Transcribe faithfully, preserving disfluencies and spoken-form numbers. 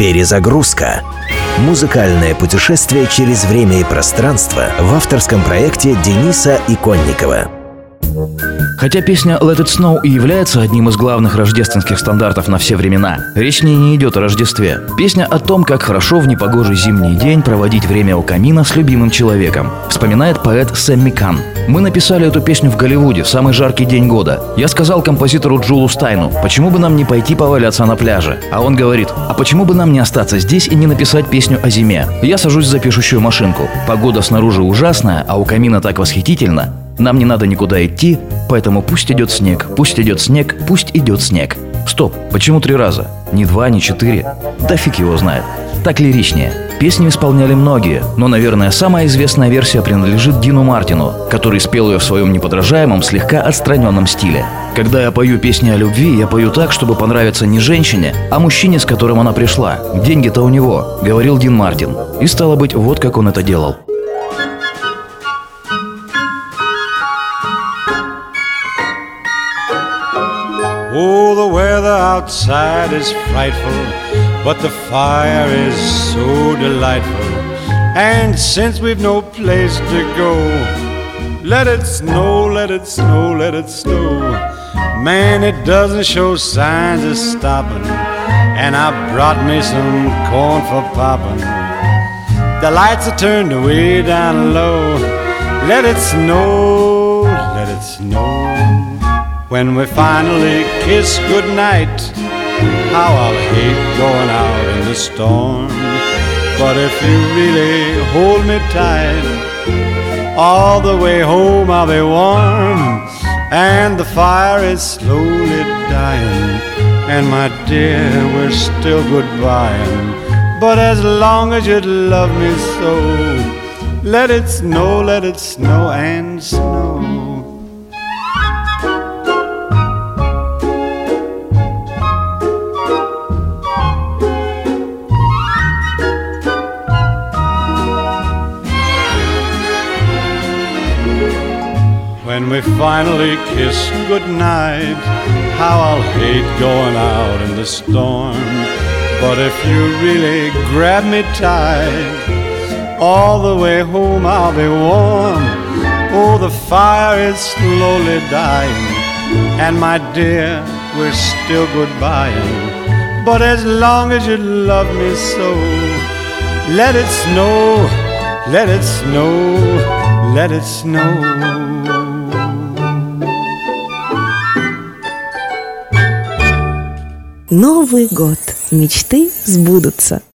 Перезагрузка. Музыкальное путешествие через время и пространство в авторском проекте Дениса Иконникова. Хотя песня «Let It Snow» и является одним из главных рождественских стандартов на все времена, речь в ней не идет о Рождестве. Песня о том, как хорошо в непогожий зимний день проводить время у камина с любимым человеком, вспоминает поэт Сэмми Кан. Мы написали эту песню в Голливуде в самый жаркий день года. Я сказал композитору Джулу Стайну, почему бы нам не пойти поваляться на пляже? А он говорит, а почему бы нам не остаться здесь и не написать песню о зиме? Я сажусь за пишущую машинку. Погода снаружи ужасная, а у камина так восхитительно. Нам не надо никуда идти, поэтому пусть идет снег, пусть идет снег, пусть идет снег. Стоп, почему три раза? Не два, не четыре? Да фиг его знает. Так лиричнее. Песню исполняли многие, но, наверное, самая известная версия принадлежит Дину Мартину, который спел ее в своем неподражаемом, слегка отстраненном стиле. Когда я пою песни о любви, я пою так, чтобы понравиться не женщине, а мужчине, с которым она пришла. Деньги-то у него, говорил Дин Мартин. И стало быть, вот как он это делал. Oh, the weather outside is frightful, but the fire is so delightful. And since we've no place to go, let it snow, let it snow, let it snow. Man, it doesn't show signs of stopping, and I brought me some corn for popping. The lights are turned way down low. Let it snow, let it snow. When we finally kiss goodnight, how I'll hate going out in the storm. But if you really hold me tight, all the way home I'll be warm. And the fire is slowly dying, and my dear, we're still goodbying. But as long as you love me so, let it snow, let it snow and snow. When we finally kiss goodnight, how I'll hate going out in the storm. But if you really grab me tight, all the way home I'll be warm. Oh, the fire is slowly dying, and my dear, we're still goodbying. But as long as you love me so, let it snow, let it snow, let it snow. Новый год. Мечты сбудутся.